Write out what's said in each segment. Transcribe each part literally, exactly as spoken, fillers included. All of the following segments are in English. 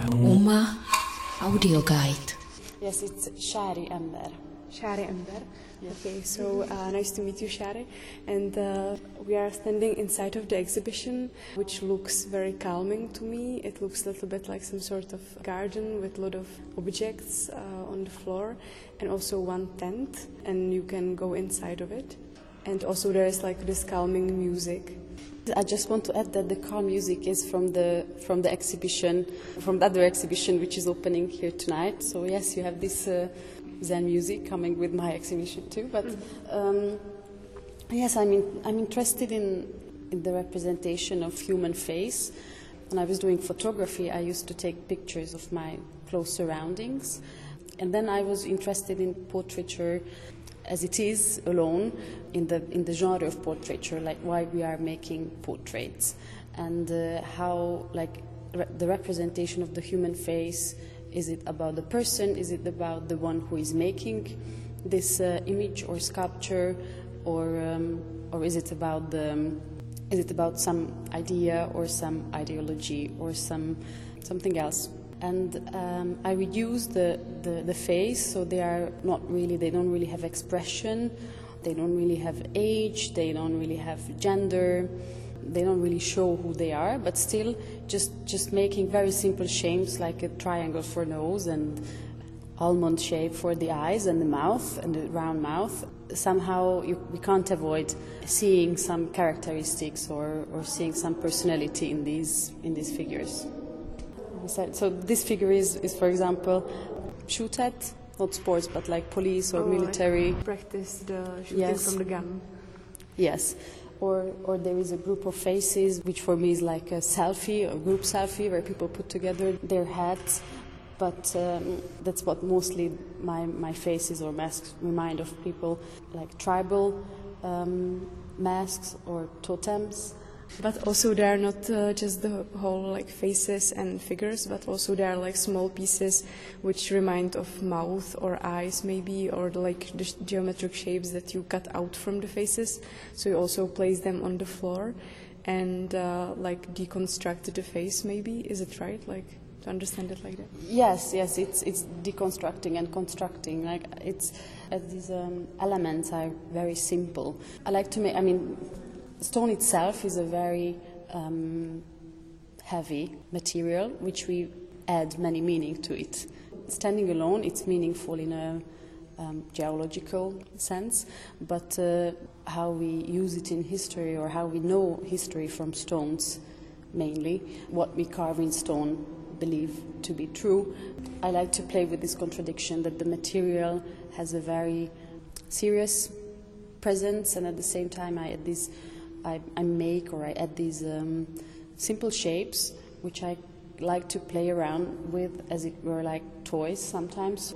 Uma audio guide. Yes, it's Shari Ember. Shari Ember. Yes. Okay, so uh, nice to meet you, Shari. And uh, we are standing inside of the exhibition, which looks very calming to me. It looks a little bit like some sort of garden with a lot of objects uh, on the floor, and also one tent, and you can go inside of it. And also there is like this calming music. I just want to add that the calm music is from the from the exhibition, from the other exhibition which is opening here tonight. So yes, you have this uh, Zen music coming with my exhibition too. But um, yes, I'm in, I'm interested in in the representation of human face. When I was doing photography, I used to take pictures of my close surroundings, and then I was interested in portraiture as it is alone in the in the genre of portraiture, like why we are making portraits, and uh, how like re the representation of the human face. Is it about the person? Is it about the one who is making this uh, image or sculpture, or um, or is it about the um, is it about some idea or some ideology or some something else? And um, I reduce the, the, the face, so they are not really, they don't really have expression, they don't really have age, they don't really have gender, they don't really show who they are, but still just, just making very simple shapes like a triangle for nose and almond shape for the eyes and the mouth and the round mouth. Somehow you, we can't avoid seeing some characteristics or, or seeing some personality in these, in these figures. So this figure is, is, for example, shoot at, not sports, but like police or oh, military. Like practice the shooting yes. from the gun. Yes. Or, or there is a group of faces, which for me is like a selfie, a group selfie, where people put together their hats. But um, that's what mostly my, my faces or masks remind of people, like tribal um, masks or totems. But also there are not uh, just the whole like faces and figures, but also there are like small pieces which remind of mouth or eyes maybe, or like the geometric shapes that you cut out from the faces. So you also place them on the floor and uh, like deconstruct the face maybe. Is it right? Like to understand it like that? Yes, yes. It's it's deconstructing and constructing. Like it's uh, these um, elements are very simple. I like to make. I mean. Stone itself is a very um, heavy material, which we add many meaning to it. Standing alone, it's meaningful in a um, geological sense, but uh, how we use it in history or how we know history from stones, mainly, what we carve in stone believe to be true. I like to play with this contradiction that the material has a very serious presence, and at the same time I add this I, I make or I add these um, simple shapes which I like to play around with as it were like toys sometimes.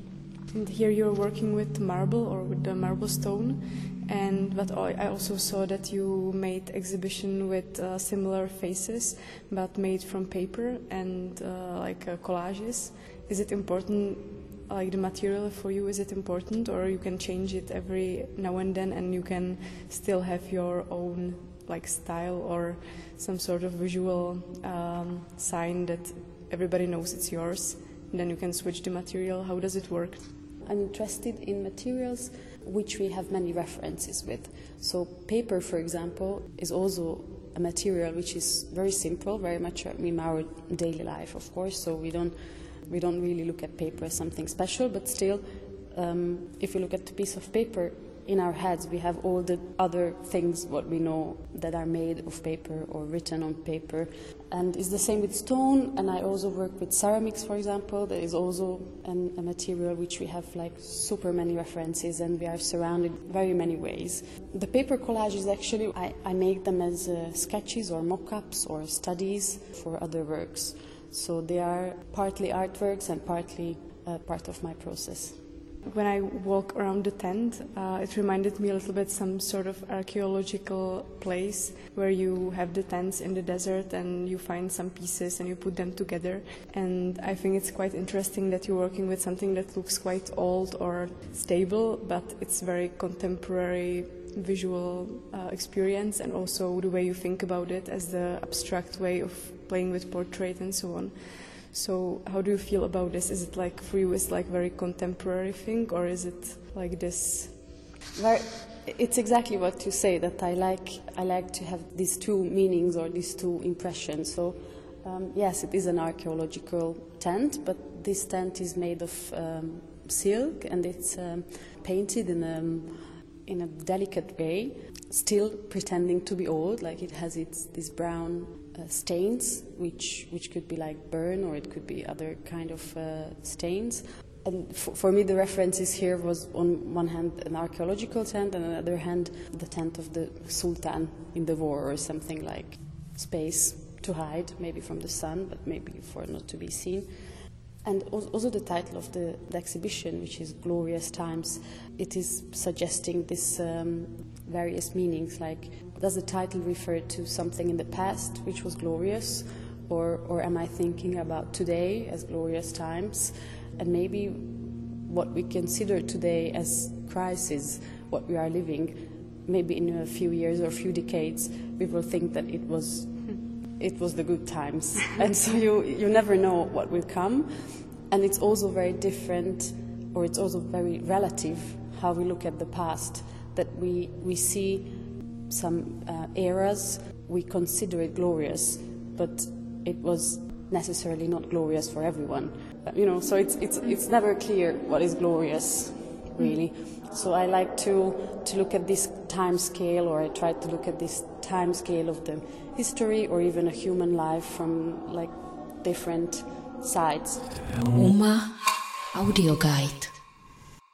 And here you're working with marble or with the marble stone, and but I also saw that you made exhibition with uh, similar faces but made from paper and uh, like uh, collages. Is it important? Like the material for you, is it important, or you can change it every now and then and you can still have your own like style or some sort of visual um, sign that everybody knows it's yours, and then you can switch the material? How does it work? I'm interested in materials which we have many references with. So paper, for example, is also a material which is very simple, very much in our daily life, of course, so we don't We don't really look at paper as something special, but still, um, if you look at a piece of paper, in our heads we have all the other things what we know that are made of paper or written on paper. And it's the same with stone, and I also work with ceramics, for example. There is also an, a material which we have like super many references, and we are surrounded very many ways. The paper collages, actually, I, I make them as uh, sketches or mock-ups or studies for other works. So they are partly artworks and partly uh, part of my process. When I walk around the tent, uh, it reminded me a little bit some sort of archaeological place where you have the tents in the desert and you find some pieces and you put them together. And I think it's quite interesting that you're working with something that looks quite old or stable, but it's very contemporary visual uh, experience, and also the way you think about it as the abstract way of playing with portrait and so on. So how do you feel about this? Is it like for you, it's like very contemporary thing, or is it like this? Very, it's exactly what you say, that I like I like to have these two meanings or these two impressions. So um, yes, it is an archaeological tent, but this tent is made of um, silk, and it's um, painted in a in a delicate way, still pretending to be old. Like it has its these brown uh, stains, which which could be like burn, or it could be other kind of uh, stains. And for, for me, the references here was on one hand an archaeological tent, and on the other hand the tent of the Sultan in the war, or something like space to hide, maybe from the sun, but maybe for not to be seen. And also the title of the, the exhibition, which is Glorious Times, it is suggesting this um, various meanings, like does the title refer to something in the past which was glorious, or, or am I thinking about today as glorious times? And maybe what we consider today as crisis, what we are living, maybe in a few years or a few decades, we will think that it was it was the good times. And so you, you never know what will come. And it's also very different, or it's also very relative, how we look at the past, that we, we see some uh, eras, we consider it glorious, but it was necessarily not glorious for everyone. You know, so it's it's it's never clear what is glorious, really. So I like to to look at this time scale, or I try to look at this time scale of the history, or even a human life from like different sides. UMA Audio Guide.